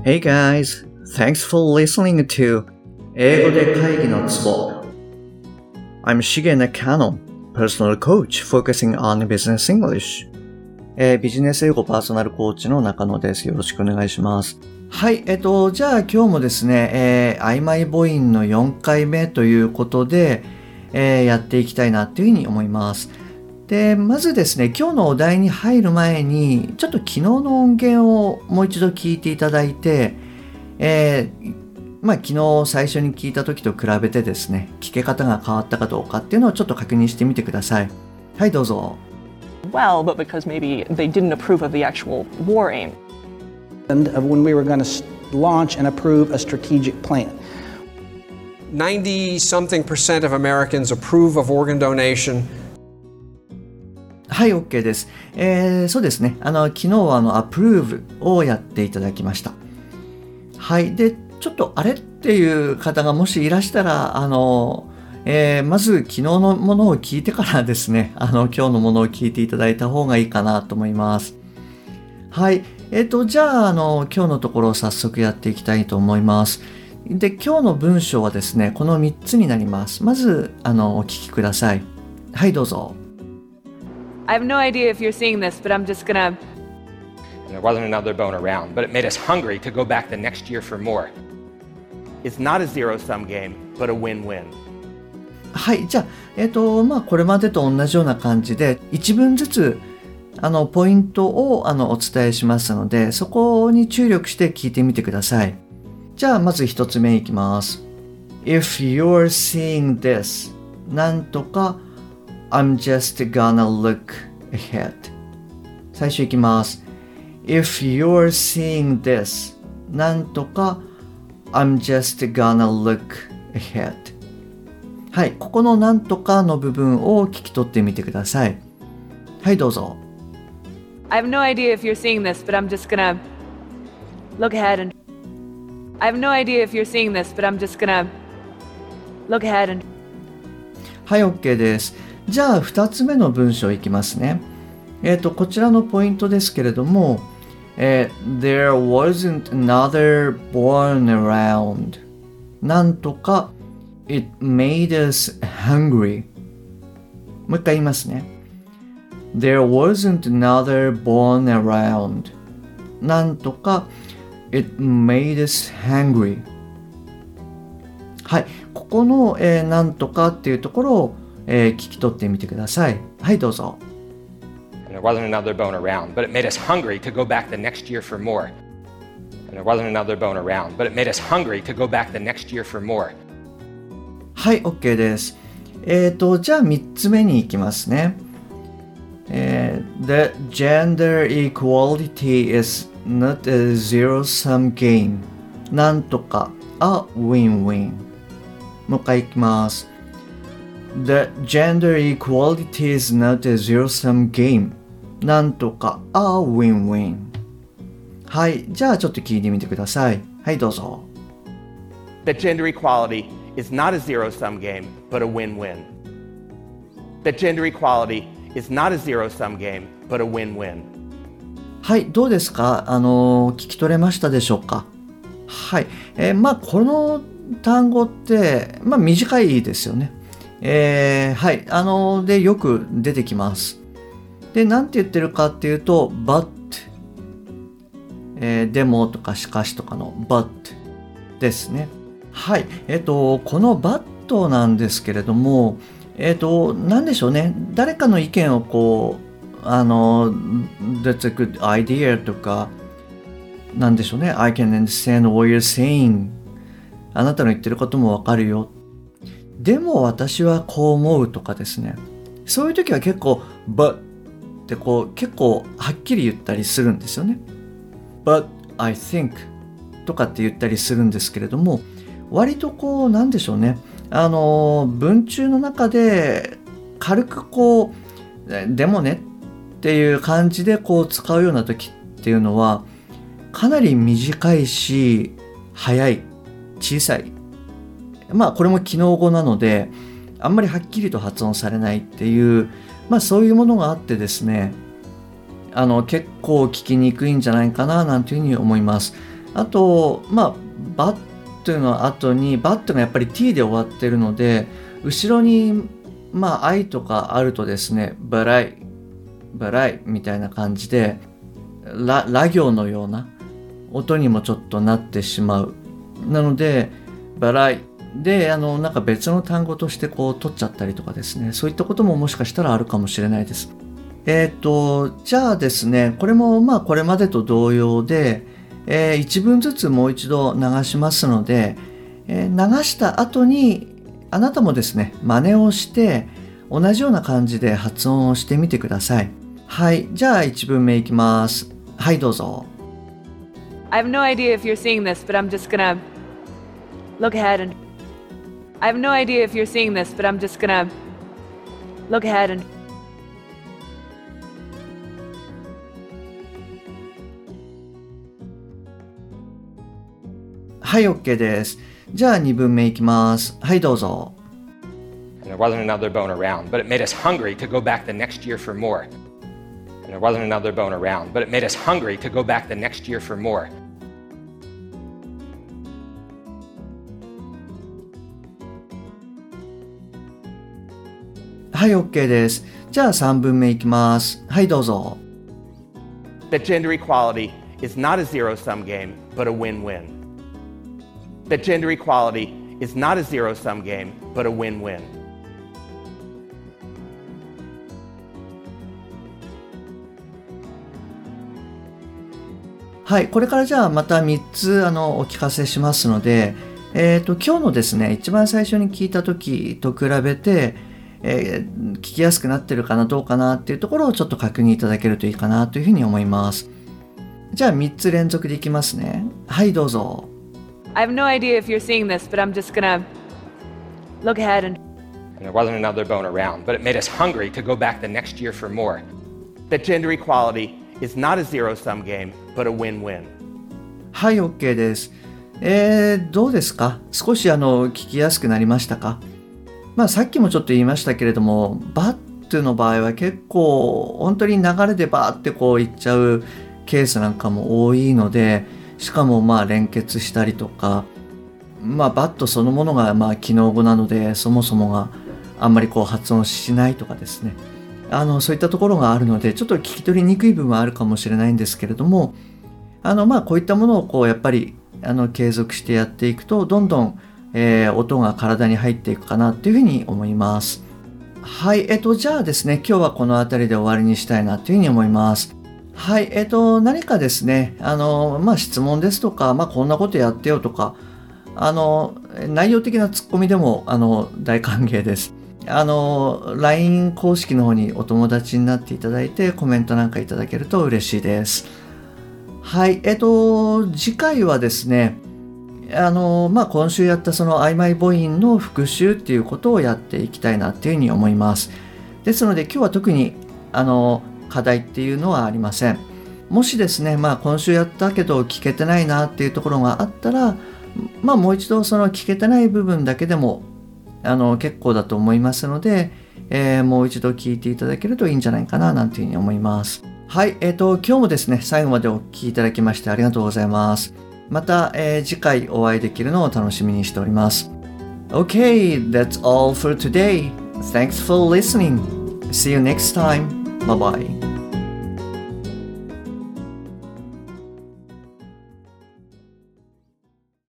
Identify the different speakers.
Speaker 1: Hey guys, thanks for listening to 英語で会議のツボ I'm Shige Nakano, personal coach focusing on business English. ビジネス英語パーソナルコーチの中野です。よろしくお願いします。はい、じゃあ今日もですね、曖昧母音の4回目ということで、やっていきたいなというふうに思います。で、まずですね、今日のお題に入る前に、ちょっと昨日の音源をもう一度聞いていただいて、昨日最初に聞いた時と比べてですね、聞け方が変わったかどうかっていうのをちょっと確認してみてください。はい、どうぞ。
Speaker 2: Well, but because maybe they didn't approve of the actual war aim.
Speaker 3: And of when we were going to launch and approve a strategic plan.
Speaker 4: 90-something% of Americans approve of organ donation.
Speaker 1: はい、OK です。そうですね。昨日はapprove をやっていただきました。はい。で、ちょっとあれっていう方がもしいらしたら、まず昨日のものを聞いてからですね、今日のものを聞いていただいた方がいいかなと思います。はい。じゃあ、今日のところを早速やっていきたいと思います。で、今日の文章はですね、この3つになります。まず、お聞きください。はい、どうぞ。
Speaker 5: I have no idea if you're seeing this, but I'm just gonna...
Speaker 6: There wasn't another bone around, but it made us hungry to go back the next year for more.
Speaker 7: It's not a zero-sum game, but a win-win.
Speaker 1: はい、じゃあ、これまでと同じような感じで、一文ずつ、ポイントを、お伝えしますので、そこに注力して聞いてみてください。じゃあ、まず一つ目いきます。If you're seeing this, なんとか、I'm just gonna look ahead. 最初いきます。If you're seeing this, なんとか、I'm just gonna look ahead. はい、ここのなんとかの部分を聞き取ってみてください。はい、どうぞ。
Speaker 5: I have no idea if you're seeing this, but I'm just gonna look ahead and... I have no idea if you're seeing this, but I'm just gonna look ahead and...
Speaker 1: はい、OK です。じゃあ、2つ目の文章いきますね。こちらのポイントですけれども、There wasn't another born around. なんとか、It made us hungry. もう一回言いますね。There wasn't another born around. なんとか、It made us hungry. はい、ここの、なんとかっていうところを聞き取ってみてください。はい、どうぞ。
Speaker 6: And there wasn't another bone around, but it made us hungry to go back the next year for more. And there wasn't another bone around, but it made us hungry to go back the next year for more.
Speaker 1: はい、OK です。じゃあ3つ目に行きますね。The gender equality is not a zero-sum game. なんとか a win-win. もう一回行きます。The gender equality is not a zero-sum game. なんとか a win-win. はい、じゃあちょっと聞いてみてください。はい、どうぞ。
Speaker 7: That gender equality is not a zero-sum game, but a win-win. That gender equality is not a zero-sum game, but a win-win.
Speaker 1: はい、どうですか？聞き取れましたでしょうか？はい、この単語って、短いですよね。はい、で、よく出てきます。で、なんて言ってるかっていうと、but、でもとかしかしとかの but ですね。はい、この but なんですけれども、なんでしょうね。誰かの意見をこう、that's a good idea とか、なんでしょうね。I can understand what you're saying. あなたの言ってることもわかるよ。でも私はこう思うとかですね。そういう時は結構 but ってこう結構はっきり言ったりするんですよね。but I think とかって言ったりするんですけれども、割とこうなんでしょうね。文中の中で軽くこうでもねっていう感じでこう使うような時っていうのはかなり短いし早い小さい。これも機能語なのであんまりはっきりと発音されないっていう、そういうものがあってですね、結構聞きにくいんじゃないかななんていうふうに思います。 あと、バッというのは後に、バットがやっぱり t で終わってるので、後ろに、I とかあるとですね、バライみたいな感じで、ラ行のような音にもちょっとなってしまう。なので、バライで、なんか別の単語としてこう取っちゃったりとかですね、そういったことももしかしたらあるかもしれないです。じゃあですね、これもこれまでと同様で、一文ずつもう一度流しますので、流した後にあなたもですね、真似をして同じような感じで発音をしてみてください。はい、じゃあ一文目いきます。はい、どうぞ。
Speaker 5: I have no idea if you're seeing this, but I'm just gonna look ahead and I have no idea if you're seeing this, but I'm just gonna look ahead and
Speaker 1: はい、OK です。じゃあ2文目いきます。はい、どうぞ。
Speaker 6: And there wasn't another bone around, but it made us hungry to go back the next year for more. And there wasn't another bone around, but it made us hungry to go back the next year for more.
Speaker 1: はい、OK です。じゃあ3文目いきます。はい、どうぞ。
Speaker 7: That gender equality is not a zero-sum game, but a win-win. That gender equality is not a zero-sum game, but a win-win.
Speaker 1: はい、これからじゃあまた3つお聞かせしますので、今日のですね、一番最初に聞いた時と比べて、聞きやすくなってるかなどうかなっていうところをちょっと確認いただけるといいかなというふうに思います。じゃあ3つ連続でいきますね。はい、どうぞ。
Speaker 5: I have no idea if you're seeing this, but I'm just gonna look ahead and
Speaker 6: And there wasn't another bone around, but it made us hungry to go back the next year for more.
Speaker 7: That gender equality is not a zero-sum game, but a win-win.
Speaker 1: はい、OK です。どうですか？少し聞きやすくなりましたか？さっきもちょっと言いましたけれども、バットの場合は結構本当に流れでバーってこういっちゃうケースなんかも多いので、しかも連結したりとか、バットそのものが機能語なので、そもそもがあんまりこう発音しないとかですね、そういったところがあるので、ちょっと聞き取りにくい部分はあるかもしれないんですけれども、こういったものをこうやっぱり継続してやっていくと、どんどん、音が体に入っていくかなというふうに思います。はい、じゃあですね、今日はこの辺りで終わりにしたいなというふうに思います。はい、何かですね、質問ですとか、こんなことやってよとか、内容的なツッコミでも大歓迎です。LINE 公式の方にお友達になっていただいてコメントなんかいただけると嬉しいです。はい、次回はですね、今週やったその曖昧母音の復習っていうことをやっていきたいなっていうふうに思います。ですので今日は特に課題っていうのはありません。もしですね、今週やったけど聞けてないなっていうところがあったら、もう一度その聞けてない部分だけでも結構だと思いますので、もう一度聞いていただけるといいんじゃないかななんていうふうに思います。はい、今日もですね、最後までお聞きいただきましてありがとうございます。また、次回お会いできるのを楽しみにしております。Okay, that's all for today. Thanks for listening. See you next time. Bye bye.